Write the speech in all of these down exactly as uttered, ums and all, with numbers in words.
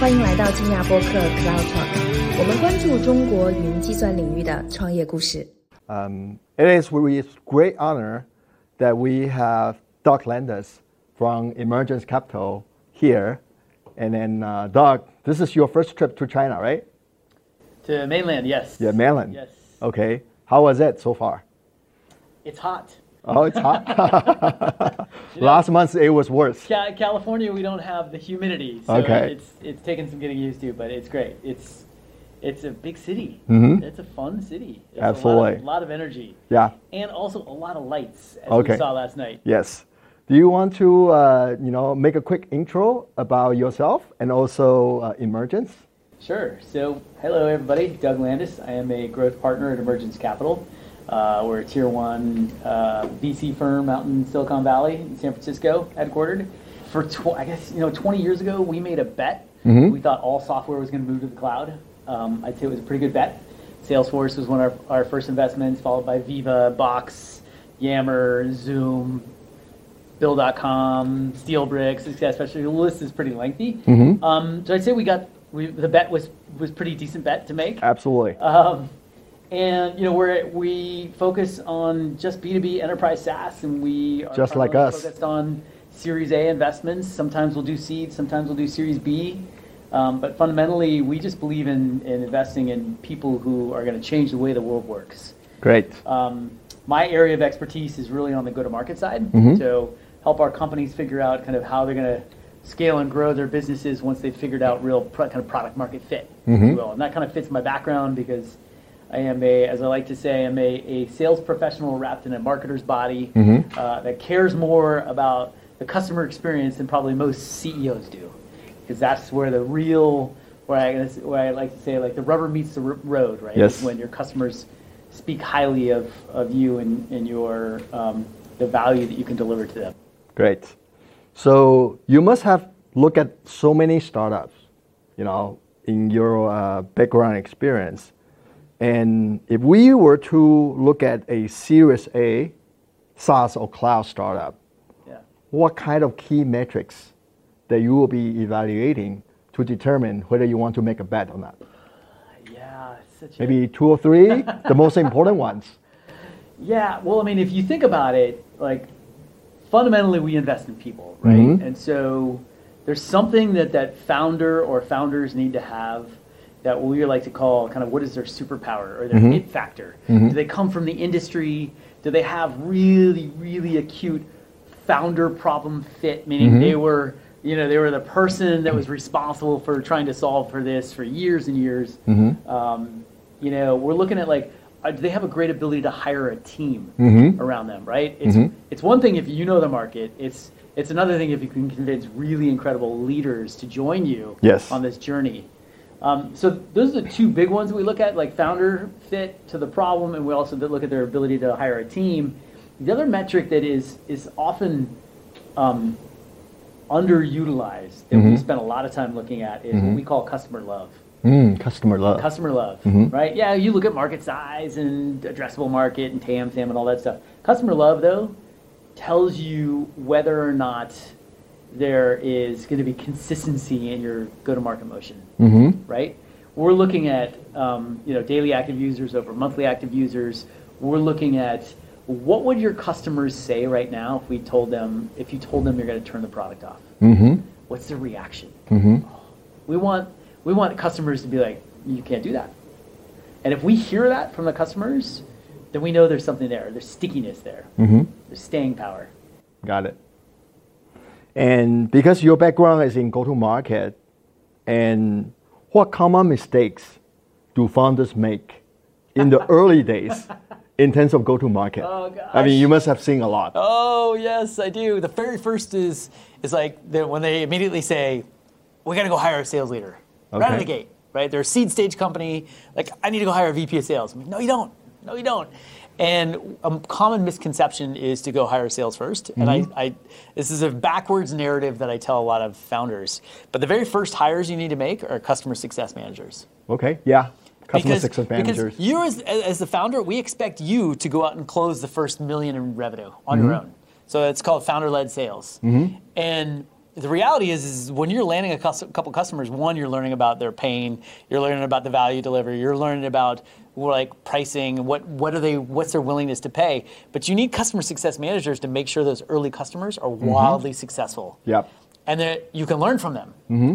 欢迎来到金亚播客 Cloud Talk， 我们关注中国云计算领域的创业故事。 Um, it is with great honor that we have Doug Landis from Emergence Capital here. And then, uh, Doug, this is your first trip to China, right? To mainland, yes. Yeah, mainland. Yes. Okay. How was it so far? It's hot. Oh, it's hot. You know, Last month it was worse. Ca- California, we don't have the humidity, so Okay. it's it's taken some getting used to, but it's great. It's it's a big city. Mhm. It's a fun city. It's Absolutely. A lot, of, lot of energy. Yeah. And also a lot of lights, as Okay. we saw last night. Yes. Do you want to, uh, you know, make a quick intro about yourself and also uh, Emergence? Sure. So, hello everybody. Doug Landis. I am a growth partner at Emergence Capital. Uh, we're a tier one uh, V C firm out in Silicon Valley, in San Francisco, headquartered. For tw- I guess you know, twenty years ago, we made a bet. Mhm. We thought all software was going to move to the cloud. Um, I'd say it was a pretty good bet. Salesforce was one of our, our first investments, followed by Viva, Box, Yammer, Zoom, Bill dot com, SteelBricks, especially. The list is pretty lengthy. Mhm. Um, so I'd say we got we, the bet was was pretty decent bet to make. Absolutely. Um, and you know we're we focus on just B two B enterprise SaaS, and we are Just like primarily us. focused on Series A investments. Sometimes we'll do seed, sometimes we'll do Series B. Um, but fundamentally, we just believe in, in investing in people who are going to change the way the world works. Great. Um, my area of expertise is really on the go-to-market side. Mhm. So help our companies figure out kind of how they're going to scale and grow their businesses once they've figured out real pro- kind of product market fit, if Mhm. you will. And that kind of fits my background because I am a, as I like to say, I'm a, a sales professional wrapped in a marketer's body Mhm. uh, that cares more about the customer experience than probably most C E Os do. Because that's where the real, where I, where I like to say, like the rubber meets the r- road, right? Yes. It's when your customers speak highly of, of you and, and your um, the value that you can deliver to them. Great. So you must have looked at so many startups, you know, in your uh, background experience. And if we were to look at a Series A SaaS or cloud startup, Yeah. what kind of key metrics that you will be evaluating to determine whether you want to make a bet or not? Yeah. It's such Maybe two or three, the most important ones. A, yeah. Well, I mean, if you think about it, like fundamentally, we invest in people, right? Mhm. And so there's something that that founder or founders need to have that we like to call kind of what is their superpower or their Mhm. it factor. Mhm. Do they come from the industry? Do they have really, really acute founder problem fit, meaning Mhm. they were, you know, they were the person that was responsible for trying to solve for this for years and years. Mhm. Um, you know, we're looking at like, uh, do they have a great ability to hire a team Mhm. around them, right? It's Mhm. it's one thing if you know the market. It's it's another thing if you can convince really incredible leaders to join you Yes. on this journey. Um, so those are the two big ones that we look at, like founder fit to the problem, and we also look at their ability to hire a team. The other metric that is is often um, underutilized that we Mhm. spend a lot of time looking at is Mhm. what we call customer love. Mm, customer love. Customer love, Mhm. right? Yeah, you look at market size and addressable market and T A M, S A M, and all that stuff. Customer love, though, tells you whether or not there is going to be consistency in your go-to-market motion, Mm-hmm. right? We're looking at um, you know daily active users over monthly active users. We're looking at what would your customers say right now if we told them if you told them you're going to turn the product off. Mm-hmm. What's the reaction? Mm-hmm. We want we want customers to be like, you can't do that. And if we hear that from the customers, then we know there's something there. There's stickiness there. Mm-hmm. There's staying power. Got it. And because your background is in go-to-market, and what common mistakes do founders make in the early days in terms of go-to-market? Oh, gosh. I mean, you must have seen a lot. Oh yes, I do. The very first is is like the, when they immediately say, "We got to go hire a sales leader right out of the Okay. gate." Right? They're a seed stage company. Like, I need to go hire a V P of sales. I'm like, no, you don't. No, you don't. And a common misconception is to go hire sales first. And I, I, this is a backwards narrative that I tell a lot of founders. But the very first hires you need to make are customer success managers. Okay, yeah. Customer Because, success managers. because you as, as the founder, we expect you to go out and close the first million in revenue on your own. So it's called founder-led sales. And the reality is, is when you're landing a cus- couple customers, one, you're learning about their pain, you're learning about the value delivery, you're learning about like pricing, what what are they, what's their willingness to pay. But you need customer success managers to make sure those early customers are mm-hmm. wildly successful. Yep. And that you can learn from them, mm-hmm.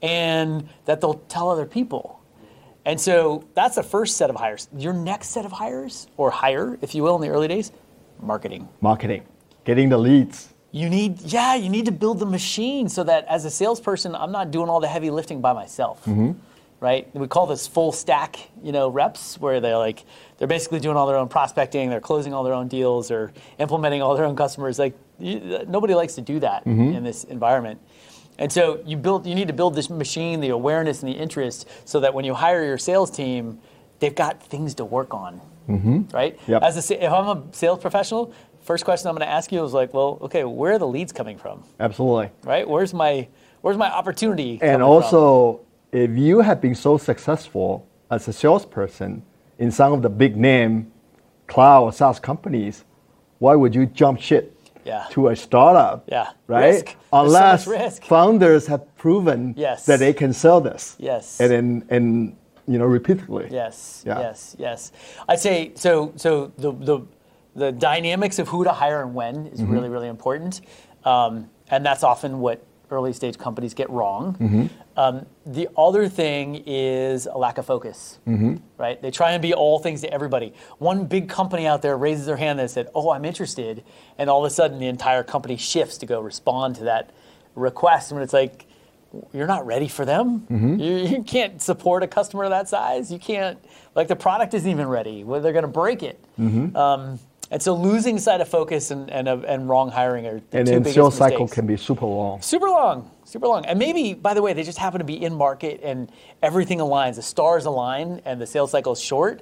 and that they'll tell other people. And so that's the first set of hires. Your next set of hires, or hire, if you will, in the early days, marketing. Marketing, getting the leads. You need, yeah, you need to build the machine so that as a salesperson, I'm not doing all the heavy lifting by myself, mm-hmm. right? We call this full stack, you know, reps, where they're like, they're basically doing all their own prospecting, they're closing all their own deals, or implementing all their own customers. Like, you, nobody likes to do that mm-hmm. in this environment. And so you build, you need to build this machine, the awareness and the interest, so that when you hire your sales team, they've got things to work on, mm-hmm. right? Yep. As a, if I'm a sales professional, first question I'm going to ask you is like, well, okay, where are the leads coming from? Absolutely. Right? Where's my where's my opportunity? And also, from? If you have been so successful as a salesperson in some of the big name cloud or SaaS companies, why would you jump ship yeah. to a startup? Yeah. Right? Risk. Unless so risk. founders have proven yes. that they can sell this. Yes. And and, and you know, repeatedly. Yes. Yeah. Yes. Yes. I'd say so. So the the The dynamics of who to hire and when is mm-hmm. really, really important. Um, and that's often what early stage companies get wrong. Mm-hmm. Um, the other thing is a lack of focus, mm-hmm. right? They try and be all things to everybody. One big company out there raises their hand and said, oh, I'm interested. And all of a sudden the entire company shifts to go respond to that request. And it's like, you're not ready for them. Mm-hmm. You, you can't support a customer that size. You can't, like the product isn't even ready. Well, they're going to break it. Mm-hmm. Um, And so losing sight of focus and and, uh, and wrong hiring are the and two then biggest sales mistakes. cycle can be super long. Super long, super long. And maybe, by the way, they just happen to be in market and everything aligns. The stars align and the sales cycle is short.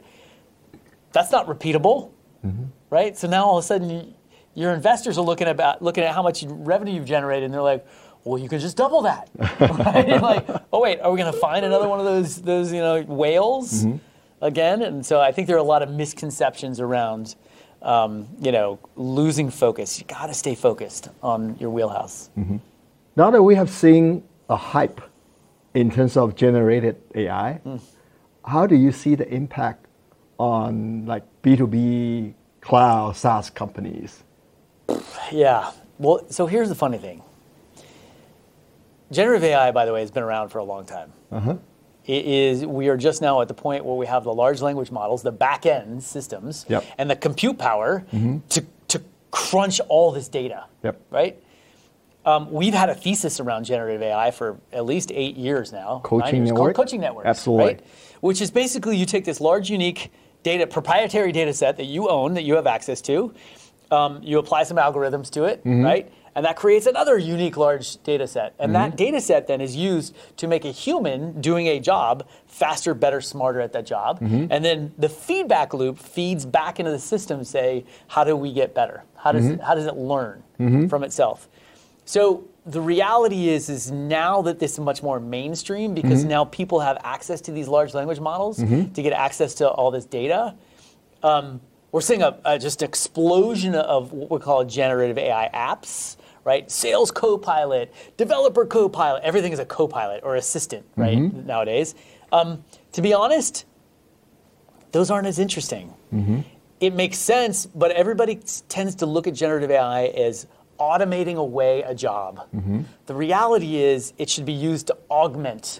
That's not repeatable, mm-hmm. right? So now all of a sudden, you, your investors are looking about looking at how much revenue you've generated, and they're like, well, you can just double that, right? And like, oh wait, are we going to find another one of those those you know whales mm-hmm. again? And so I think there are a lot of misconceptions around. Um, you know, losing focus. You got to stay focused on your wheelhouse. Mm-hmm. Now that we have seen a hype in terms of generated A I, mm. how do you see the impact on like B two B cloud SaaS companies? Yeah. Well, so here's the funny thing. Generative A I, by the way, has been around for a long time. Uh-huh. It is, we are just now at the point where we have the large language models, the back-end systems, yep. and the compute power mm-hmm. to, to crunch all this data, yep. right? Um, we've had a thesis around generative A I for at least eight years now. Coaching years, network? Coaching networks, Absolutely. Right? Which is basically you take this large, unique data, proprietary data set that you own, that you have access to, um, you apply some algorithms to it, mm-hmm. right? And that creates another unique large data set. And mm-hmm. that data set then is used to make a human doing a job faster, better, smarter at that job. Mm-hmm. And then the feedback loop feeds back into the system, say, how do we get better? How does, mm-hmm. it, how does it learn mm-hmm. from itself? So the reality is, is now that this is much more mainstream, because mm-hmm. now people have access to these large language models mm-hmm. to get access to all this data, um, we're seeing a, a just explosion of what we call generative A I apps. Right, sales co-pilot, developer co-pilot, everything is a co-pilot or assistant, right, mm-hmm. nowadays. Um, to be honest, those aren't as interesting. Mm-hmm. It makes sense, but everybody tends to look at generative A I as automating away a job. Mm-hmm. The reality is it should be used to augment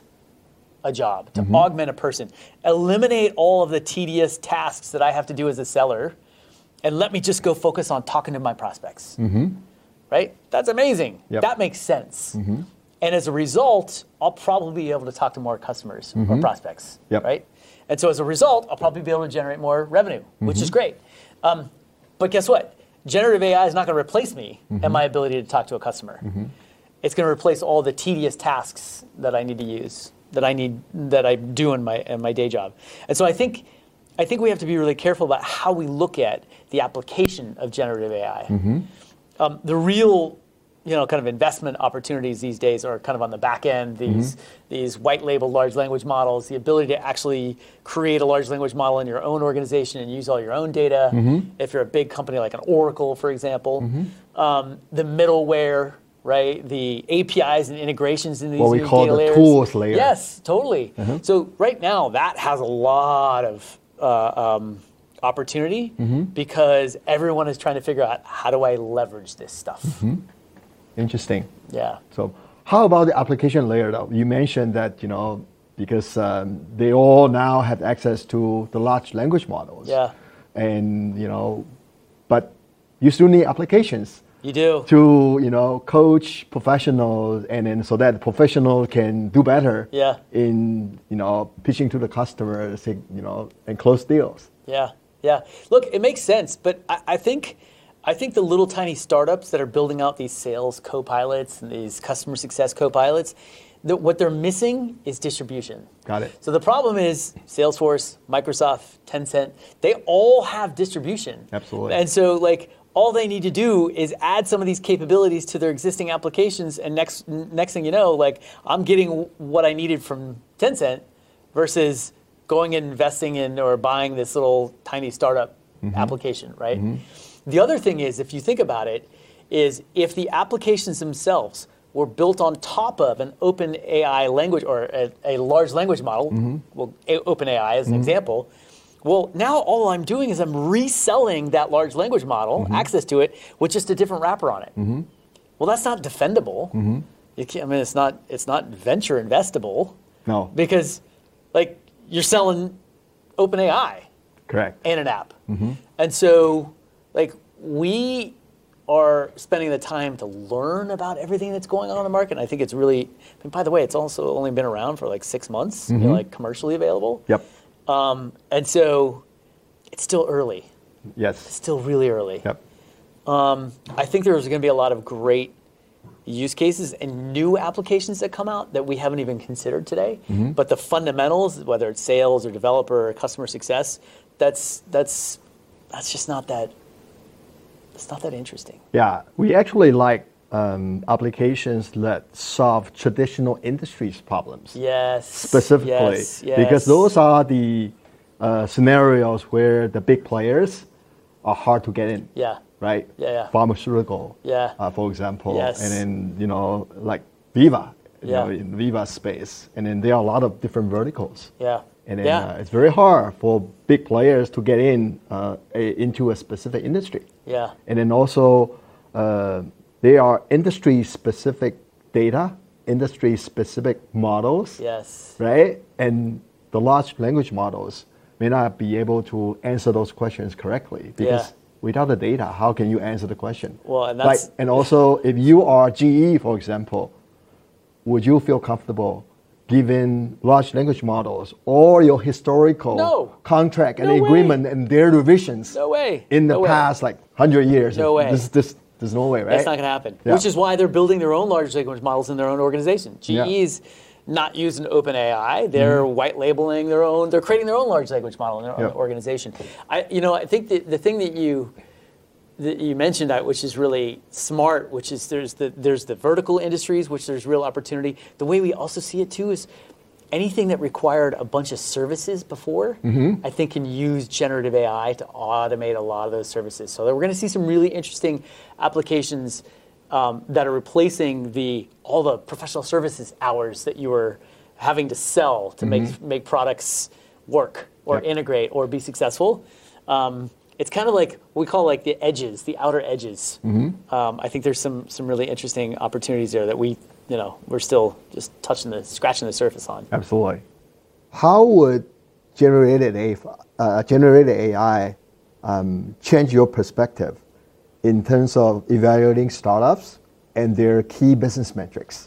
a job, to mm-hmm. augment a person. Eliminate all of the tedious tasks that I have to do as a seller, and let me just go focus on talking to my prospects. Mm-hmm. Right? That's amazing. Yep. That makes sense. Mm-hmm. And as a result, I'll probably be able to talk to more customers mm-hmm. or prospects. Yep. Right? And so as a result, I'll probably be able to generate more revenue, mm-hmm. which is great. Um, but guess what? Generative A I is not going to replace me mm-hmm. and my ability to talk to a customer. Mm-hmm. It's going to replace all the tedious tasks that I need to use, that I need, that I do in my in my day job. And so I think I think we have to be really careful about how we look at the application of generative A I. Mm-hmm. Um, the real, you know, kind of investment opportunities these days are kind of on the back end. These mm-hmm. these white label large language models, the ability to actually create a large language model in your own organization and use all your own data. Mm-hmm. If you're a big company like an Oracle, for example, mm-hmm. um, the middleware right? The A P Is and integrations in these What we new call data the layers. tools layer. Yes, totally. Uh-huh. So right now, that has a lot of uh, um, opportunity Mm-hmm. because everyone is trying to figure out, how do I leverage this stuff? Mm-hmm. Interesting. Yeah. So how about the application layer though? You mentioned that, you know, because um, they all now have access to the large language models. Yeah. And, you know, but you still need applications You do. to, you know, coach professionals and then so that professional can do better Yeah. in, you know, pitching to the customers, you know, and close deals. Yeah, yeah. Look, it makes sense, but I, I think I think the little tiny startups that are building out these sales co-pilots and these customer success co-pilots, that what they're missing is distribution. Got it. So the problem is Salesforce, Microsoft, Tencent, they all have distribution. Absolutely. And so like all they need to do is add some of these capabilities to their existing applications, and next next thing you know, like I'm getting what I needed from Tencent versus going and investing in or buying this little tiny startup Mm-hmm. application, right? The other thing is, if you think about it, is if the applications themselves were built on top of an open A I language or a, a large language model, Mm-hmm. well, a- open A I as an example, well, now all I'm doing is I'm reselling that large language model, Mm-hmm. access to it, with just a different wrapper on it. Well, that's not defendable. Mm-hmm. You can't, I mean, it's not it's not venture investable No, because, like, you're selling OpenAI correct. and an app. And so, like, we are spending the time to learn about everything that's going on in the market. And I think it's really, I mean, by the way, it's also only been around for like six months, you know, like commercially available. Yep. Um, and so it's still early, Yes. still really early. Yep. I think there's going to be a lot of great use cases and new applications that come out that we haven't even considered today. But the fundamentals, whether it's sales or developer or customer success, that's that's that's just not that. It's not that interesting. Yeah, we actually like um, applications that solve traditional industries problems Yes. specifically, Yes, yes. because those are the uh, scenarios where the big players are hard to get in. Yeah. Right. Yeah, yeah. Pharmaceutical. Yeah. Uh, for example. Yes. And then you know like Viva. You Yeah. know, in Viva space, and then there are a lot of different verticals. Yeah. And then yeah. uh, it's very hard for big players to get in uh, a, into a specific industry. yeah. And then also, uh, there are industry-specific data, industry-specific models, Yes. right? And the large language models may not be able to answer those questions correctly because Yeah. without the data, how can you answer the question? Well, and Like, that's and also, if you are G E, for example, would you feel comfortable given large language models all your historical No. contract and No way. agreement and their revisions no way. in the No way. past like one hundred years? No way. This, this, there's no way, right? That's not going to happen. Yeah. Which is why they're building their own large language models in their own organization. G Yeah. E's not using OpenAI. They're Mm-hmm. white labeling their own. They're creating their own large language model in their Yeah. own organization. I, you know, I think the, the thing that you that you mentioned, uh, which is really smart, which is there's the there's the vertical industries, which there's real opportunity. The way we also see it too is anything that required a bunch of services before, Mm-hmm. I think can use generative A I to automate a lot of those services. So we're going to see some really interesting applications um, that are replacing the all the professional services hours that you were having to sell to make make products work or Mm-hmm. Yep. integrate or be successful. Um, it's kind of like what we call like the edges, the outer edges. Mm-hmm. Um, I think there's some some really interesting opportunities there that we, you know, we're still just touching the scratching the surface on. Absolutely. How would generated A I, uh, generated A I um, change your perspective in terms of evaluating startups and their key business metrics?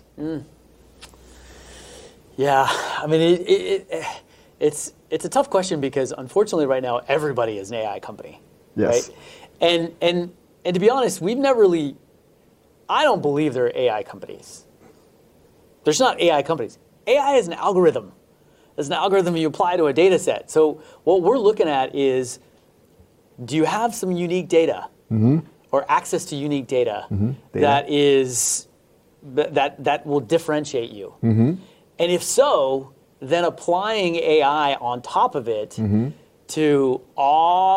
Yeah, I mean, it, it, it, it's it's a tough question because unfortunately, right now, everybody is an A I company, Yes. right? And and and to be honest, we've never really. I don't believe there are A I companies. There's not A I companies. A I is an algorithm. It's an algorithm you apply to a data set. So what we're looking at is, do you have some unique data or access to unique data, Data. that is that that will differentiate you? And if so, then applying A I on top of it to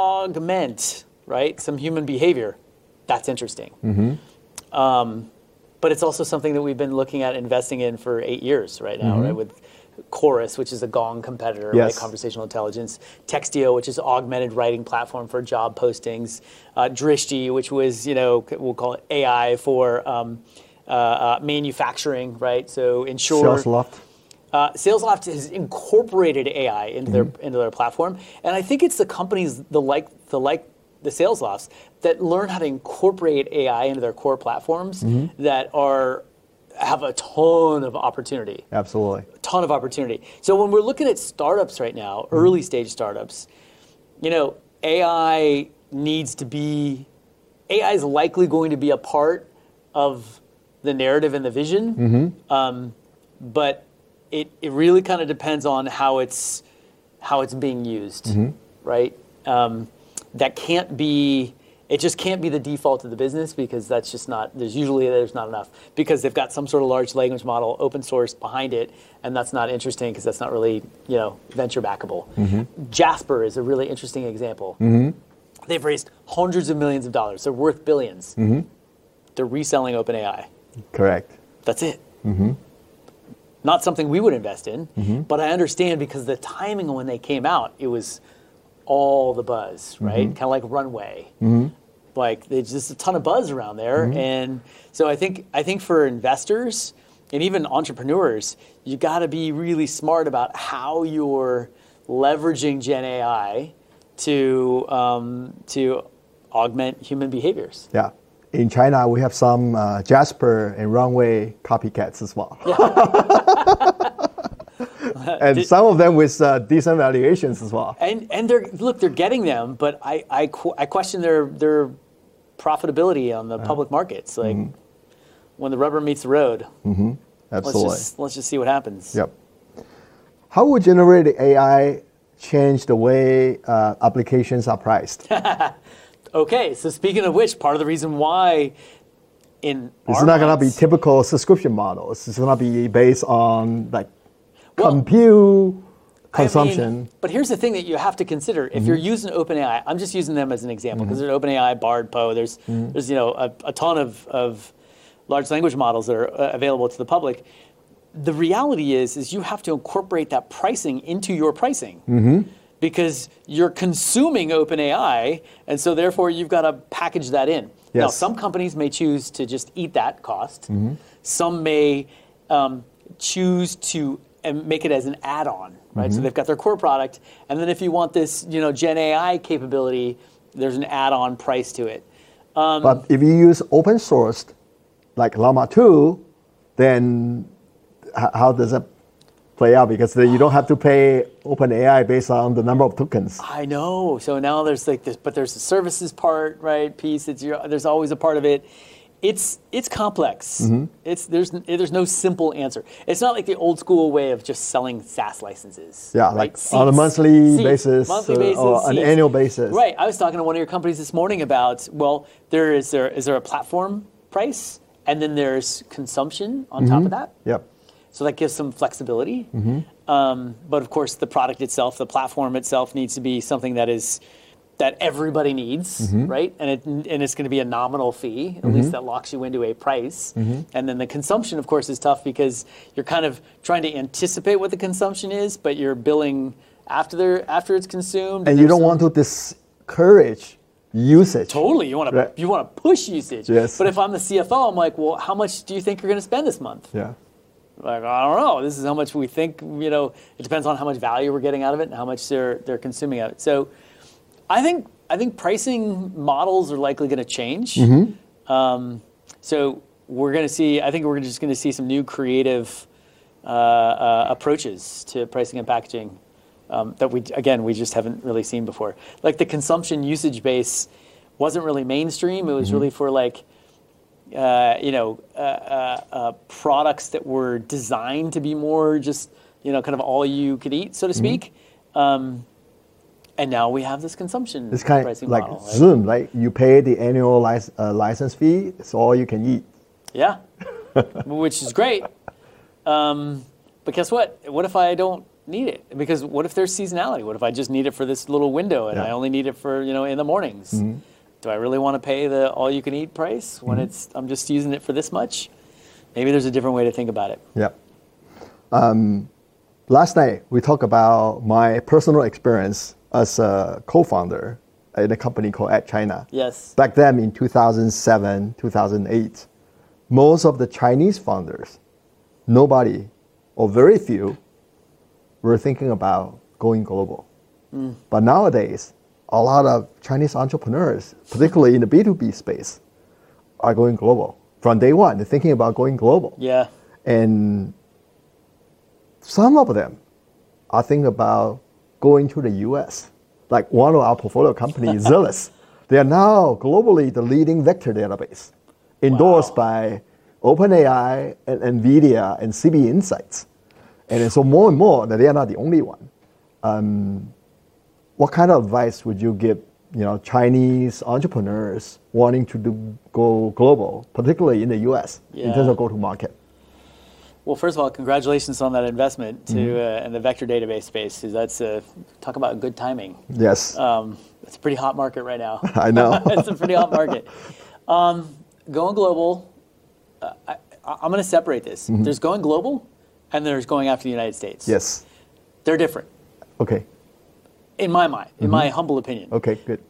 augment, right, some human behavior, that's interesting. Um, but it's also something that we've been looking at investing in for eight years right now, mm-hmm. right? With Chorus, which is a Gong competitor, yes. right? Conversational intelligence. Textio, which is augmented writing platform for job postings. Uh, Drishti, which was, you know, we'll call it A I for um, uh, uh, manufacturing, right? So ensure. SalesLoft. Uh, SalesLoft has incorporated A I into mm-hmm. their into their platform, and I think it's the companies the like the like the SalesLofts that learn how to incorporate A I into their core platforms mm-hmm. that are have a ton of opportunity. Absolutely, a ton of opportunity. So when we're looking at startups right now, mm-hmm. early stage startups, you know, A I needs to be A I is likely going to be a part of the narrative and the vision, mm-hmm. um, but It, it really kind of depends on how it's how it's being used, mm-hmm. right? Um, that can't be. It just can't be the default of the business because that's just not. There's usually there's not enough because they've got some sort of large language model, open source behind it, and that's not interesting because that's not really you know venture backable. Mm-hmm. Jasper is a really interesting example. Mm-hmm. They've raised hundreds of millions of dollars. They're worth billions. Mm-hmm. They're reselling OpenAI. Correct. That's it. Mm-hmm. Not something we would invest in, mm-hmm. but I understand because the timing when they came out, it was all the buzz, right? Mm-hmm. Kind of like Runway. Mm-hmm. Like there's just a ton of buzz around there. Mm-hmm. And so I think I think for investors and even entrepreneurs, you got to be really smart about how you're leveraging Gen A I to um, to augment human behaviors. Yeah. In China, we have some uh, Jasper and Runway copycats as well. Yeah. and Did, some of them with uh, decent valuations as well. And and they're look, they're getting them, but I I, qu- I question their their profitability on the uh, public markets. Like mm-hmm. when the rubber meets the road. Mm-hmm. Absolutely. Let's just, let's just see what happens. Yep. How would generative A I change the way uh, applications are priced? Okay, so speaking of which, part of the reason why in it's not going to be typical subscription models. It's going to be based on like well, compute consumption. I mean, but here's the thing that you have to consider: if mm-hmm. you're using OpenAI, I'm just using them as an example because mm-hmm. there's OpenAI, Bard, Poe. There's mm-hmm. there's you know a, a ton of, of large language models that are uh, available to the public. The reality is, is you have to incorporate that pricing into your pricing. Mm-hmm. Because you're consuming OpenAI, and so therefore you've got to package that in. Yes. Now, some companies may choose to just eat that cost. Mm-hmm. Some may um, choose to um, make it as an add-on, right? Mm-hmm. So they've got their core product, and then if you want this, you know, Gen A I capability, there's an add-on price to it. Um, but if you use open sourced, like Llama two, then h- how does that play out? Because you don't have to pay OpenAI based on the number of tokens. I know. So now there's like this, but there's the services part, right? Piece. It's your, there's always a part of it. It's it's complex. Mm-hmm. It's there's there's no simple answer. It's not like the old school way of just selling SaaS licenses. Yeah, right? like Seats, on a monthly seats, basis, monthly uh, basis or an seats. annual basis. Right. I was talking to one of your companies this morning about well, there is there is there a platform price, and then there's consumption on mm-hmm. top of that. Yep. So that gives some flexibility. Mm-hmm. Um, but of course, the product itself, the platform itself, needs to be something that is that everybody needs, mm-hmm. right? And it and it's going to be a nominal fee, at mm-hmm. least that locks you into a price. Mm-hmm. And then the consumption, of course, is tough because you're kind of trying to anticipate what the consumption is, but you're billing after the after it's consumed. And, and you don't some, want to discourage usage. Totally, you want to right. you want to push usage. Yes. But if I'm the C F O, I'm like, well, how much do you think you're going to spend this month? Yeah. Like, I don't know. This is how much we think, you know, it depends on how much value we're getting out of it and how much they're they're consuming of it. So I think I think pricing models are likely going to change. Mm-hmm. Um, so we're going to see, I think we're just going to see some new creative uh, uh, approaches to pricing and packaging um, that we, again, we just haven't really seen before. Like the consumption usage base wasn't really mainstream. It was mm-hmm. really for like, Uh, you know, uh, uh, uh, products that were designed to be more just, you know, kind of all you could eat, so to speak. Mm-hmm. Um, and now we have this consumption it's kind pricing of like model. Right? Zoom, right? You pay the annual lic- uh, license fee, it's all you can eat. Yeah, which is great. Um, but guess what? What if I don't need it? Because what if there's seasonality? What if I just need it for this little window and yeah. I only need it for, you know, in the mornings? Mm-hmm. Do I really want to pay the all-you-can-eat price when mm-hmm. it's I'm just using it for this much? Maybe there's a different way to think about it. Yeah. Um, last night, we talked about my personal experience as a co-founder in a company called AdChina. Yes. Back then in two thousand seven, two thousand eight, most of the Chinese founders, nobody or very few were thinking about going global. Mm. But nowadays, a lot of Chinese entrepreneurs, particularly in the B two B space, are going global. From day one, they're thinking about going global. Yeah. And some of them are thinking about going to the U S. Like one of our portfolio companies, Zillis. They are now globally the leading vector database, endorsed Wow. by OpenAI and NVIDIA and C B Insights. And so more and more, that they are not the only one. Um, what kind of advice would you give, you know, Chinese entrepreneurs wanting to do, go global, particularly in the U S, Yeah. in terms of go-to-market? Well, first of all, congratulations on that investment to Mm-hmm. uh, in the vector database space. 'Cause that's uh, talk about good timing. Yes, Um, it's a pretty hot market right now. I know. It's a pretty hot market. Um, going global, uh, I, I'm going to separate this. Mm-hmm. There's going global, and there's going after the United States. Yes. They're different, Okay. in my mind, in Mm-hmm. my humble opinion. Okay, good.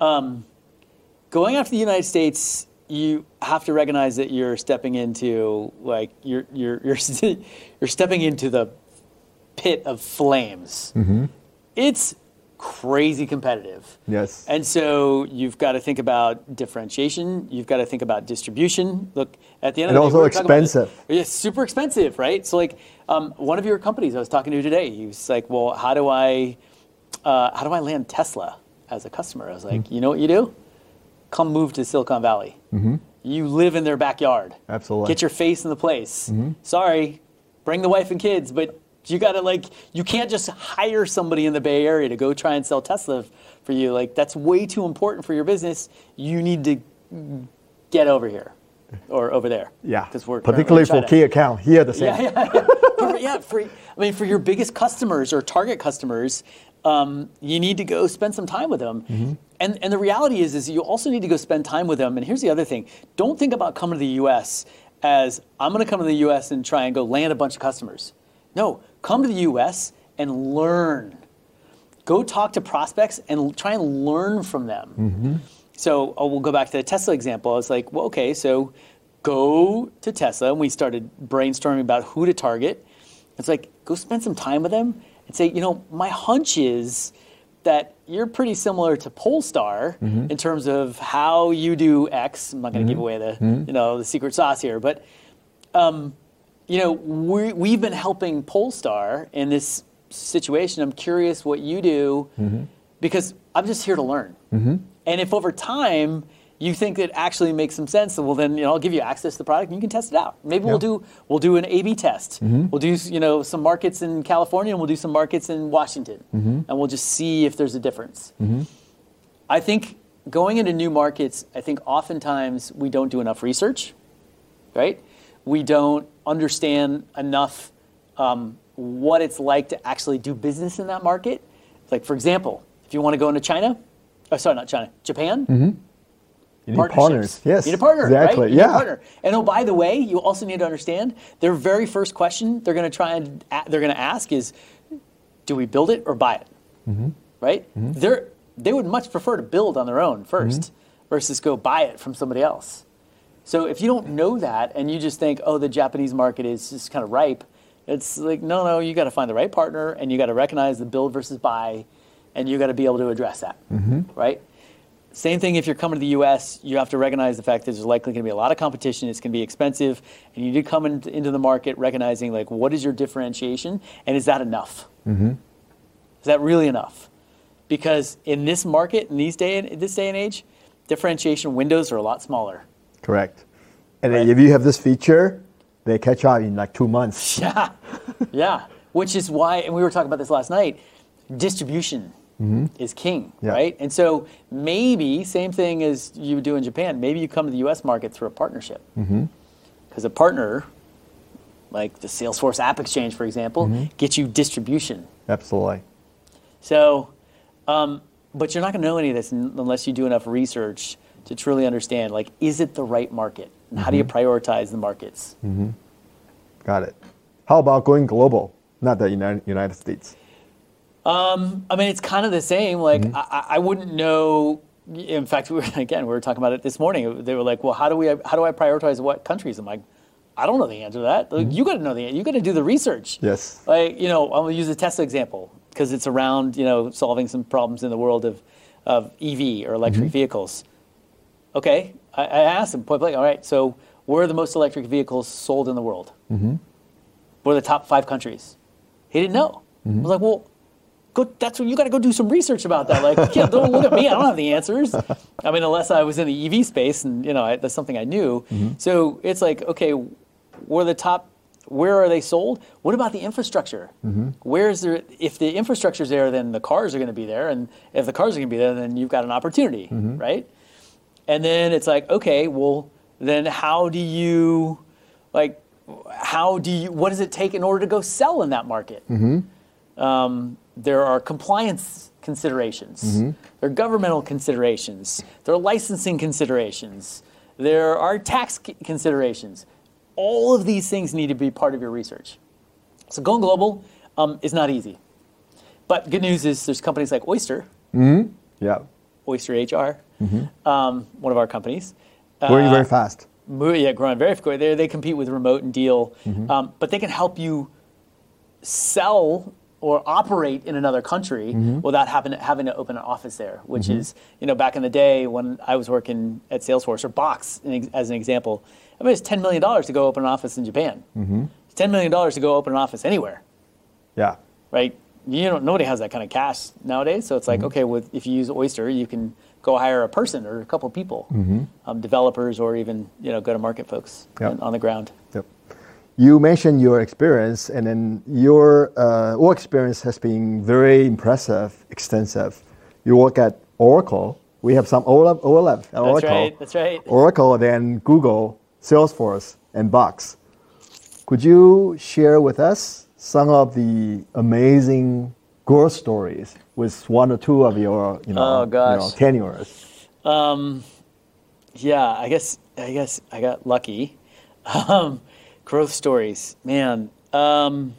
Going after the United States, you have to recognize that you're stepping into like you're you're you're you're stepping into the pit of flames. Mm-hmm. It's crazy competitive. Yes. And so you've got to think about differentiation. You've got to think about distribution. Look, at the end And of the day, also we were talking about expensive. this. It's super expensive, right? So like um, one of your companies I was talking to today, he was like, well, how do I, uh, how do I land Tesla as a customer? I was like, Mm-hmm. you know what you do? Come move to Silicon Valley. Mm-hmm. You live in their backyard. Absolutely. Get your face in the place. Mm-hmm. Sorry, bring the wife and kids, but you gotta like, you can't just hire somebody in the Bay Area to go try and sell Tesla for you. Like that's way too important for your business. You need to get over here or over there. Yeah. Because we're particularly currently in for China. key account here the same. Yeah, yeah, yeah. But for- yeah, for, I mean, for your biggest customers or target customers, um, you need to go spend some time with them. Mm-hmm. And and the reality is, is you also need to go spend time with them. And here's the other thing: don't think about coming to the U S as I'm going to come to the U S and try and go land a bunch of customers. No, come to the U S and learn. Go talk to prospects and try and learn from them. Mm-hmm. So oh, we'll go back to the Tesla example. I was like, well, okay, so go to Tesla, and we started brainstorming about who to target. It's like, go spend some time with them and say, you know, my hunch is that you're pretty similar to Polestar Mm-hmm. in terms of how you do X. I'm not going to give away the, Mm-hmm. you know, the secret sauce here, but, um, you know, we, we've been helping Polestar in this situation. I'm curious what you do Mm-hmm. because I'm just here to learn. Mm-hmm. And if over time you think it actually makes some sense, well then you know I'll give you access to the product and you can test it out. Maybe we'll Yeah. do we'll do an A B test. Mm-hmm. We'll do you know some markets in California and we'll do some markets in Washington, Mm-hmm. and we'll just see if there's a difference. Mm-hmm. I think going into new markets, I think oftentimes we don't do enough research, right? We don't understand enough um, what it's like to actually do business in that market. Like for example, if you want to go into China, oh, sorry, not China, Japan. Mm-hmm. You need Partnerships. partners. Yes. You need a partner, Exactly. right? You need Yeah. a partner. And oh, by the way, you also need to understand their very first question they're going to try and a- they're going to ask is, do we build it or buy it? Mm-hmm. Right? They're they would much prefer to build on their own 1st Mm-hmm. versus go buy it from somebody else. So if you don't know that and you just think, oh, the Japanese market is just kind of ripe, it's like no, no, you got to find the right partner and you got to recognize the build versus buy, and you got to be able to address that, Mm-hmm. right? Same thing if you're coming to the U S, you have to recognize the fact that there's likely going to be a lot of competition, it's going to be expensive, and you need to come in, into the market recognizing like what is your differentiation, and is that enough? Mm-hmm. Is that really enough? Because in this market, in these day in this day and age, differentiation windows are a lot smaller. Correct. And Right. then if you have this feature, they catch up in like two months. Yeah, yeah. Which is why, and we were talking about this last night, distribution is king, Yeah. right? And so maybe, same thing as you would do in Japan, maybe you come to the U S market through a partnership. Because a partner, like the Salesforce App Exchange, for example, gets you distribution. Absolutely. So, um, but you're not going to know any of this un- unless you do enough research to truly understand, like, is it the right market? And how do you prioritize the markets? Got it. How about going global, not the United, United States? Um, I mean, it's kind of the same. Like, mm-hmm. I, I wouldn't know. In fact, we were, again, we were talking about it this morning. They were like, "Well, how do we? How do I prioritize what countries?" I'm like, "I don't know the answer to that. Like, mm-hmm. You got to know the. You got to do the research." Yes. Like, you know, I'm gonna use the Tesla example because it's around, you know, solving some problems in the world of, of E V or electric mm-hmm. vehicles. Okay, I, I asked him point blank. All right, so where are the most electric vehicles sold in the world? Mm-hmm. What are the top five countries? He didn't know. Mm-hmm. I was like, well. Go, that's when you got to go do some research about that. Like, yeah, don't look at me. I don't have the answers. I mean, unless I was in the E V space, and you know, I, that's something I knew. Mm-hmm. So it's like, okay, where are the top? Where are they sold? What about the infrastructure? Mm-hmm. Where is there? If the infrastructure is there, then the cars are going to be there, and if the cars are going to be there, then you've got an opportunity, mm-hmm. right? And then it's like, okay, well, then how do you, like, how do you? What does it take in order to go sell in that market? Mm-hmm. Um, There are compliance considerations. Mm-hmm. There are governmental considerations. There are licensing considerations. There are tax considerations. All of these things need to be part of your research. So going global um, is not easy. But good news is there's companies like Oyster. Mm-hmm. Yeah. Oyster H R, mm-hmm. um, one of our companies. Growing uh, very fast. Yeah, growing very quickly. They they compete with Remote and Deal, mm-hmm. um, but they can help you sell or operate in another country mm-hmm. without having to, having to open an office there, which mm-hmm. is, you know, back in the day when I was working at Salesforce or Box, as an example, I mean, it's ten million dollars to go open an office in Japan. Mm-hmm. It's ten million dollars to go open an office anywhere. Yeah. Right? You know, nobody has that kind of cash nowadays. So it's like, mm-hmm. okay, with if you use Oyster, you can go hire a person or a couple of people, mm-hmm. um, developers or even, you know, go-to-market folks yep. on the ground. Yep. You mentioned your experience, and then your uh, work experience has been very impressive, extensive. You work at Oracle. We have some overlap at that's Oracle. Right, that's right. Oracle, then Google, Salesforce, and Box. Could you share with us some of the amazing growth stories with one or two of your, you know, oh, gosh. You know tenures? Um, yeah, I guess I guess I got lucky. Um, Growth stories, man. Um,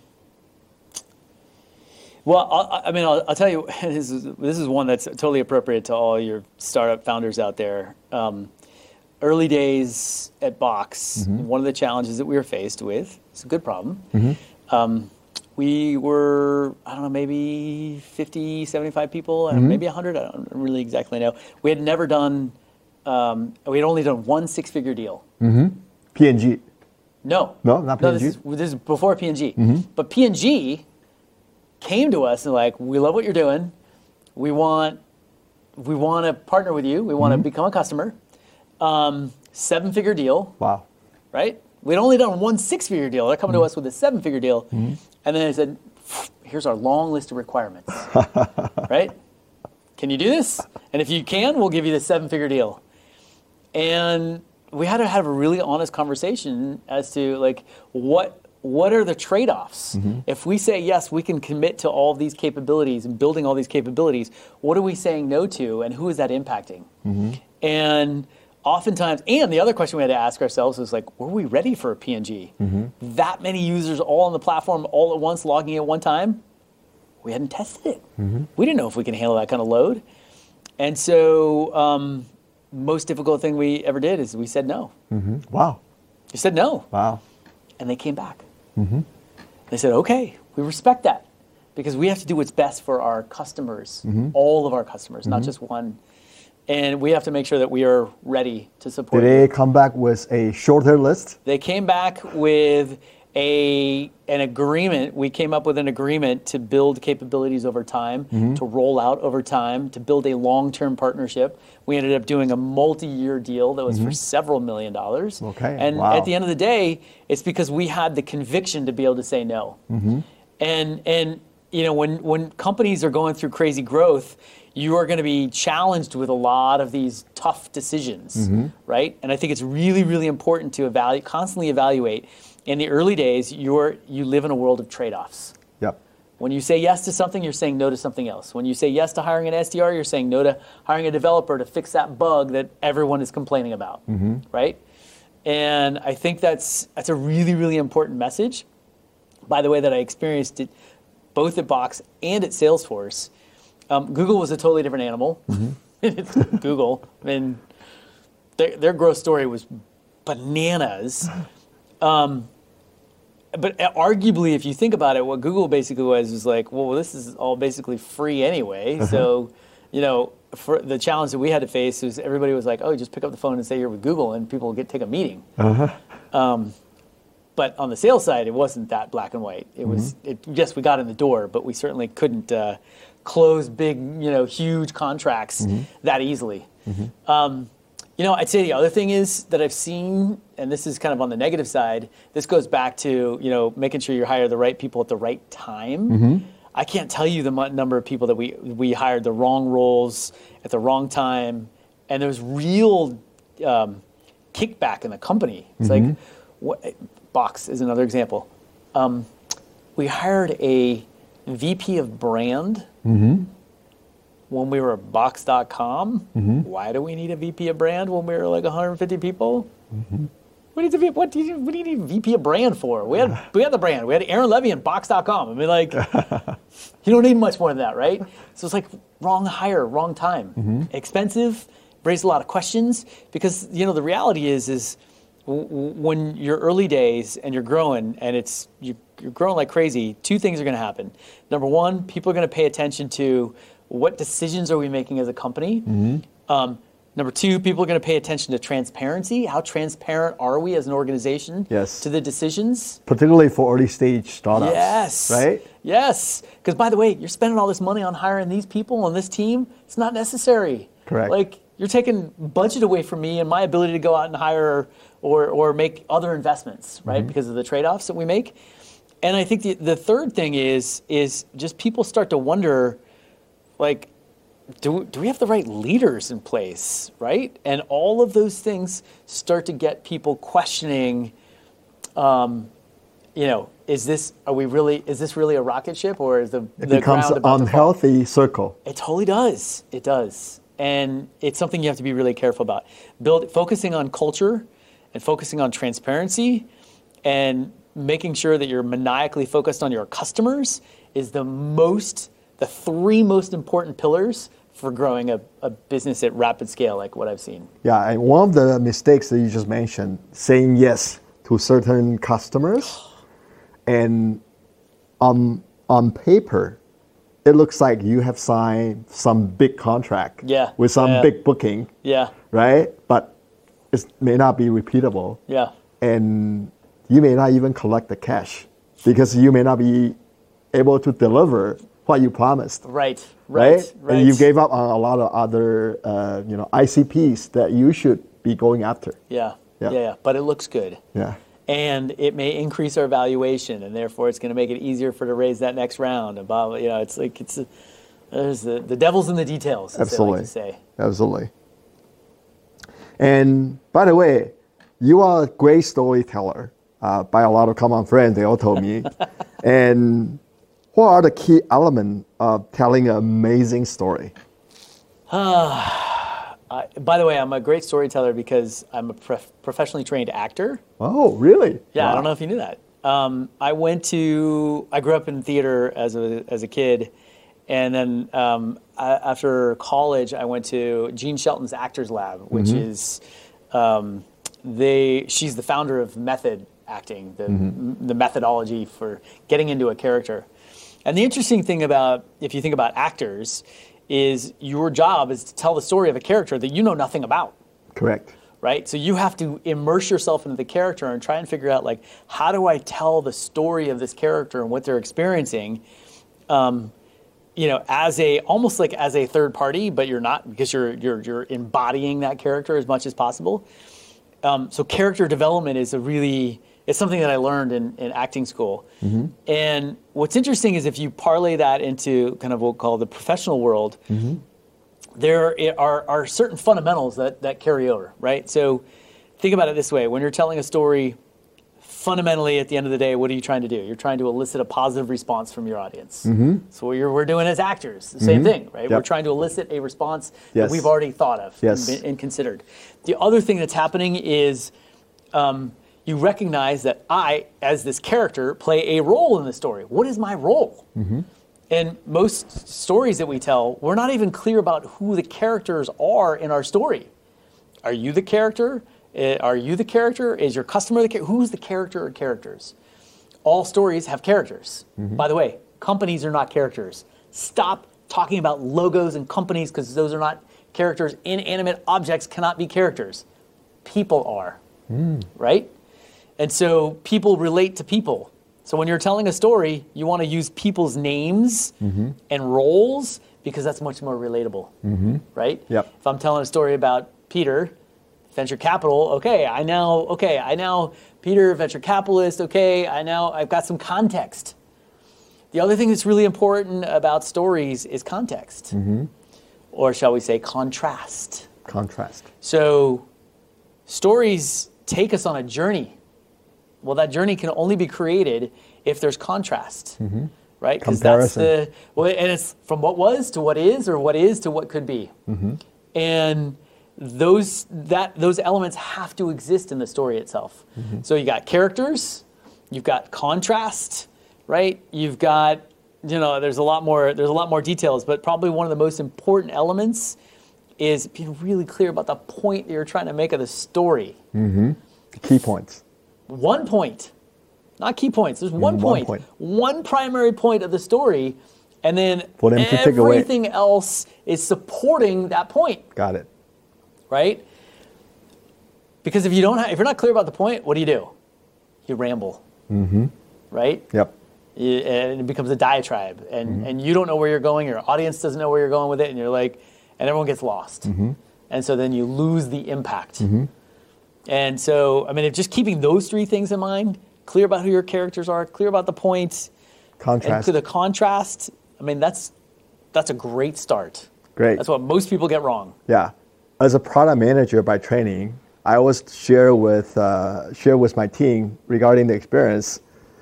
well, I'll, I mean, I'll, I'll tell you, this is this is one that's totally appropriate to all your startup founders out there. Um, early days at Box, mm-hmm. one of the challenges that we were faced with, it's a good problem. Mm-hmm. Um, we were, I don't know, maybe fifty, seventy-five people, mm-hmm. maybe one hundred, I don't really exactly know. We had never done, um, we had only done one six-figure deal. Mm-hmm. P and G. No. No, not P and G? No, this is, this is before P and G. Mm-hmm. But P and G came to us and like, we love what you're doing. We want we want to partner with you. We want mm-hmm. to become a customer. Um, seven-figure deal. Wow. Right? We'd only done one six-figure deal. They're coming mm-hmm. to us with a seven-figure deal. Mm-hmm. And then they said, here's our long list of requirements. Right? Can you do this? And if you can, we'll give you the seven-figure deal. And we had to have a really honest conversation as to like what what are the trade-offs? Mm-hmm. If we say yes, we can commit to all of these capabilities and building all these capabilities, what are we saying no to, and who is that impacting? Mm-hmm. And oftentimes, and the other question we had to ask ourselves is like, were we ready for a P and G? Mm-hmm. That many users all on the platform all at once logging at one time? We hadn't tested it. Mm-hmm. We didn't know if we can handle that kind of load. And so um, most difficult thing we ever did is we said no. Mm-hmm. Wow. We said no. Wow. And they came back. Mm-hmm. They said, okay, we respect that because we have to do what's best for our customers, mm-hmm. all of our customers, mm-hmm. not just one. And we have to make sure that we are ready to support. Did they come back with a shorter list? They came back with a an agreement. We came up with an agreement to build capabilities over time, mm-hmm. to roll out over time, to build a long-term partnership. We ended up doing a multi-year deal that was mm-hmm. for several million dollars. Okay. And wow. at the end of the day, it's because we had the conviction to be able to say no. Mm-hmm. And and you know, when when companies are going through crazy growth, you are going to be challenged with a lot of these tough decisions, mm-hmm. right? And I think it's really, really important to evaluate, constantly evaluate. In the early days, you're you live in a world of trade-offs. Yep. When you say yes to something, you're saying no to something else. When you say yes to hiring an S D R, you're saying no to hiring a developer to fix that bug that everyone is complaining about, mm-hmm. right? And I think that's that's a really, really important message. By the way, that I experienced it both at Box and at Salesforce. Um, Google was a totally different animal. Mm-hmm. It's Google. I mean, their, their growth story was bananas. Um, but arguably, if you think about it, what Google basically was was like, well, this is all basically free anyway. Uh-huh. So, you know, for the challenge that we had to face was everybody was like, oh, just pick up the phone and say you're with Google, and people get take a meeting. Uh-huh. Um, but on the sales side, it wasn't that black and white. It mm-hmm. was, it, yes, we got in the door, but we certainly couldn't uh, close big, you know, huge contracts mm-hmm. that easily. Mm-hmm. Um, you know, I'd say the other thing is that I've seen, and this is kind of on the negative side, this goes back to, you know, making sure you hire the right people at the right time. Mm-hmm. I can't tell you the m- number of people that we, we hired the wrong roles at the wrong time, and there's real um, kickback in the company. It's mm-hmm. like, what, Box is another example. Um, we hired a V P of brand mm-hmm. when we were at Box dot com. Mm-hmm. Why do we need a V P of brand when we were like one hundred fifty people? Mm-hmm. What, need to, what, do you, what do you need a V P of brand for? We had we had the brand. We had Aaron Levy and Box dot com. I mean, like, you don't need much more than that, right? So it's like wrong hire, wrong time. Mm-hmm. Expensive, raised a lot of questions because, you know, the reality is, is w- w- when you're early days and you're growing and it's you, you're growing like crazy, two things are going to happen. Number one, people are going to pay attention to what decisions are we making as a company. Mm-hmm. Um, Number two, people are going to pay attention to transparency. How transparent are we as an organization yes. to the decisions? Particularly for early stage startups. Yes. Right? Yes. Because by the way, you're spending all this money on hiring these people on this team. It's not necessary. Correct. Like, you're taking budget away from me and my ability to go out and hire or, or make other investments, right? Mm-hmm. Because of the trade-offs that we make. And I think the, the third thing is, is just people start to wonder, like, Do, do we have the right leaders in place, right? And all of those things start to get people questioning, um, you know, is this, are we really, is this really a rocket ship or is the, it the becomes ground about an unhealthy to fall? circle. It totally does. It does. And it's something you have to be really careful about. Build, focusing on culture and focusing on transparency and making sure that you're maniacally focused on your customers is the most, the three most important pillars for growing a, a business at rapid scale like what I've seen. Yeah, and one of the mistakes that you just mentioned, saying yes to certain customers, and on, on paper, it looks like you have signed some big contract yeah, with some yeah. big booking, yeah, right? But it may not be repeatable. Yeah. And you may not even collect the cash because you may not be able to deliver what you promised. Right, right, right. right? And you gave up on a lot of other, uh, you know, I C Ps that you should be going after. Yeah, yeah, yeah, yeah. But it looks good. Yeah. And it may increase our valuation, and therefore it's going to make it easier for to raise that next round. And blah, blah, you know, it's like it's a, there's the the devil's in the details. As Absolutely. They like to say. Absolutely. And by the way, you are a great storyteller. Uh, by a lot of common friends, they all told me. And what are the key elements of telling an amazing story? Uh, I, by the way, I'm a great storyteller because I'm a prof- professionally trained actor. Oh, really? Yeah, wow. I don't know if you knew that. Um, I went to, I grew up in theater as a as a kid, and then um, I, after college, I went to Gene Shelton's Actors Lab, which mm-hmm. is, um, they. She's the founder of method acting, the mm-hmm. the methodology for getting into a character. And the interesting thing about, if you think about actors, is your job is to tell the story of a character that you know nothing about. Correct. Right? So you have to immerse yourself into the character and try and figure out, like, how do I tell the story of this character and what they're experiencing, um, you know, as a, almost like as a third party, but you're not, because you're you're you're embodying that character as much as possible. Um, so character development is a really, it's something that I learned in, in acting school. Mm-hmm. And what's interesting is if you parlay that into kind of what we'll call the professional world, mm-hmm. there are, are certain fundamentals that, that carry over, right? So think about it this way. When you're telling a story, fundamentally at the end of the day, what are you trying to do? You're trying to elicit a positive response from your audience. Mm-hmm. So what you're, we're doing as actors, the same mm-hmm. thing, right? Yep. We're trying to elicit a response yes. that we've already thought of yes. and, and considered. The other thing that's happening is um, you recognize that I, as this character, play a role in the story. What is my role? Mm-hmm. And most stories that we tell, we're not even clear about who the characters are in our story. Are you the character? Uh, Are you the character? Is your customer the character? Who's the character or characters? All stories have characters. Mm-hmm. By the way, companies are not characters. Stop talking about logos and companies because those are not characters. Inanimate objects cannot be characters. People are, mm. right? And so people relate to people. So when you're telling a story, you want to use people's names mm-hmm. and roles because that's much more relatable, mm-hmm. right? Yep. If I'm telling a story about Peter, venture capital, okay, I now, okay, I now, Peter, venture capitalist, okay, I now, I've got some context. The other thing that's really important about stories is context, mm-hmm. or shall we say contrast. Contrast. So stories take us on a journey. Well, that journey can only be created if there's contrast, mm-hmm. right? Because that's the, well, and it's from what was to what is, or what is to what could be. Mm-hmm. And those that those elements have to exist in the story itself. Mm-hmm. So you got characters, you've got contrast, right? You've got, you know, there's a lot more there's a lot more details, but probably one of the most important elements is being really clear about the point that you're trying to make of the story. Mm-hmm. The key points. One point, not key points. There's one, mm, point, one point, one primary point of the story, and then for them to take away. Everything else is supporting that point. Got it. Right? Because if you don't, have, if you're not clear about the point, what do you do? You ramble. Mm-hmm. Right? Yep. You, and it becomes a diatribe, and mm-hmm. and you don't know where you're going. Your audience doesn't know where you're going with it, and you're like, and everyone gets lost, mm-hmm. and so then you lose the impact. Mm-hmm. And so, I mean, if just keeping those three things in mind, clear about who your characters are, clear about the point, contrast, and to the contrast. I mean, that's that's a great start. Great. That's what most people get wrong. Yeah. As a product manager by training, I always share with uh, share with my team regarding the experience.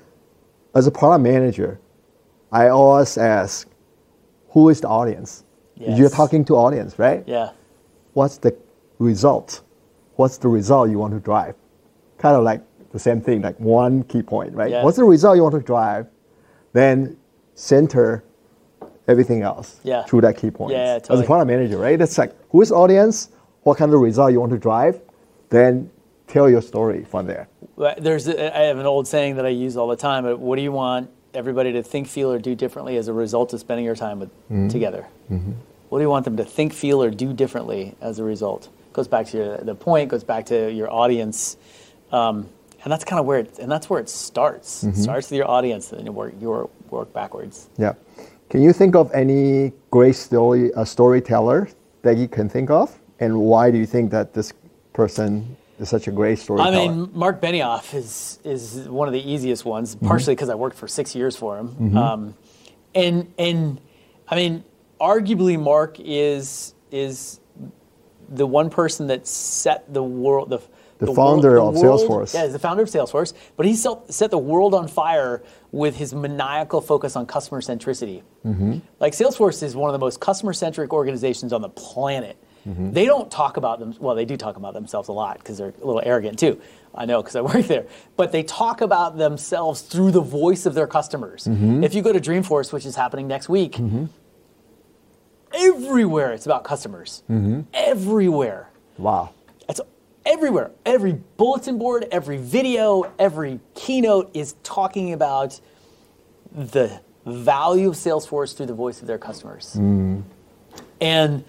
As a product manager, I always ask, who is the audience? Yes. You're talking to audience, right? Yeah. What's the result? What's the result you want to drive? Kind of like the same thing, like one key point, right? Yeah. What's the result you want to drive? Then center everything else yeah. through that key point. Yeah, totally. As a product manager, right? It's like, who is the audience? What kind of result you want to drive? Then tell your story from there. There's, a, I have an old saying that I use all the time. But what do you want everybody to think, feel, or do differently as a result of spending your time with, mm-hmm. together? Mm-hmm. What do you want them to think, feel, or do differently as a result? Goes back to your, the point, goes back to your audience. Um, and that's kind of where it, and that's where it starts. Mm-hmm. It starts with your audience, and then you work, you work backwards. Yeah. Can you think of any great story, uh, storyteller that you can think of? And why do you think that this person is such a great storyteller? I mean, Mark Benioff is is one of the easiest ones, mm-hmm. partially because I worked for six years for him. Mm-hmm. Um, and and I mean, arguably, Mark is is the one person that set the world, the, the, the founder world, the of world, Salesforce. Yeah, he's the founder of Salesforce, but he set the world on fire with his maniacal focus on customer centricity. Mm-hmm. Like Salesforce is one of the most customer-centric organizations on the planet. Mm-hmm. They don't talk about them, well, they do talk about themselves a lot because they're a little arrogant too. I know because I work there. But they talk about themselves through the voice of their customers. Mm-hmm. If you go to Dreamforce, which is happening next week, mm-hmm. everywhere it's about customers. Mm-hmm. Everywhere. Wow. It's everywhere. Every bulletin board, every video, every keynote is talking about the value of Salesforce through the voice of their customers. Mm. And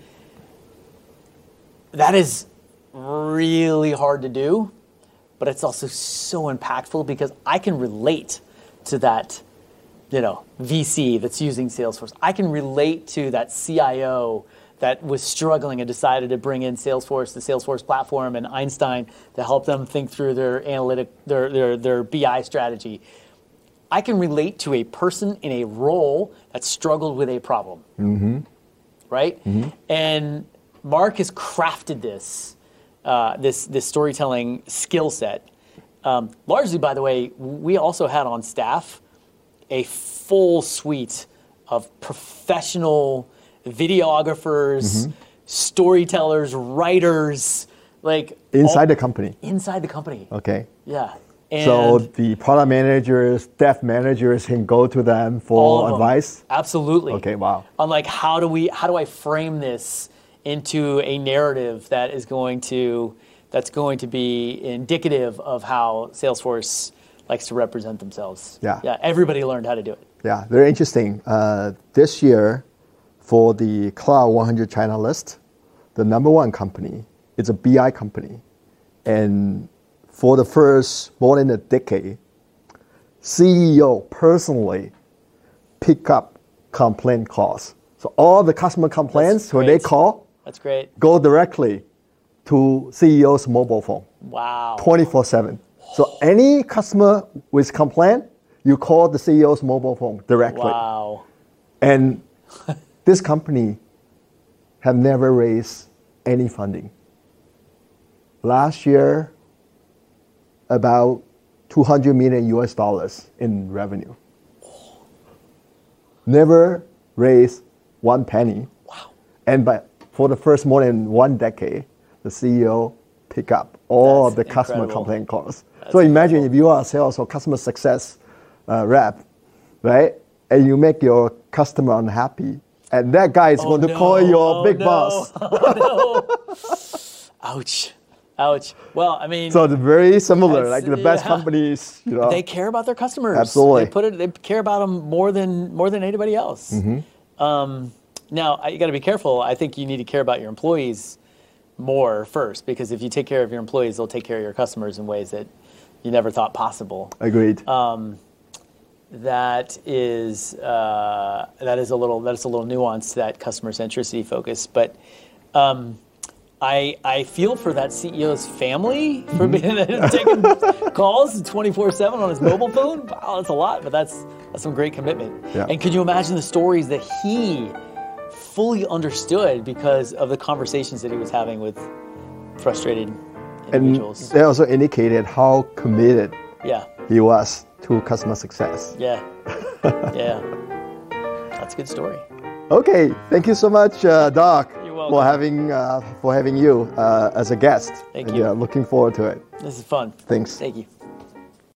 that is really hard to do, but it's also so impactful because I can relate to that, you know, V C that's using Salesforce. I can relate to that C I O that was struggling and decided to bring in Salesforce, the Salesforce platform, and Einstein to help them think through their analytic, their their, their B I strategy. I can relate to a person in a role that struggled with a problem, mm-hmm. right? Mm-hmm. And Mark has crafted this, uh, this this storytelling skill set. Um, largely, by the way, we also had on staff a full suite of professional videographers, mm-hmm. storytellers, writers, Like Inside all, the company. inside the company. Okay. Yeah. And So the product managers, dev managers can go to them all for of them. advice. Absolutely. Okay, wow. On like how do we how do I frame this into a narrative that is going to that's going to be indicative of how Salesforce likes to represent themselves. Yeah. Yeah. Everybody learned how to do it. Yeah, very interesting. Uh, this year, for the Cloud one hundred China list, the number one company is a B I company. And for the first more than a decade, C E O personally pick up complaint calls. So all the customer complaints, That's when they great. call, That's great. go directly to C E O's mobile phone, Wow. twenty-four seven. So any customer with complaint, you call the C E O's mobile phone directly. Wow. And this company have never raised any funding. Last year, about two hundred million U S dollars in revenue. Never raised one penny. Wow. And by, for the first more than one decade, the C E O pick up all That's of the customer incredible. complaint calls. That's so imagine incredible. if you are a sales or customer success uh, rep, right? And you make your customer unhappy, and that guy is Oh, going to no. call your Oh, big no. boss. Oh, no. Ouch. Ouch. Well, I mean, So it's very similar. That's- Like the best yeah. companies, you know. they care about their customers. Absolutely. They put it. They care about them more than more than anybody else. Mm-hmm. Um, now, I- you got to be careful. I think you need to care about your employees more first, because if you take care of your employees, they'll take care of your customers in ways that you never thought possible. Agreed. Um, that is uh, that is a little that is a little nuanced to that customer centricity focus, but. Um, I, I feel for that C E O's family for being taking calls twenty-four seven on his mobile phone. Wow, that's a lot, but that's that's some great commitment. Yeah. And could you imagine the stories that he fully understood because of the conversations that he was having with frustrated And individuals? they also indicated how committed yeah, he was to customer success. yeah, yeah. That's a good story. Okay, thank you so much, uh, Doc, You're welcome. for having uh, for having you uh, as a guest. Thank And, you. Yeah, looking forward to it. This is fun. Thanks. Thank you.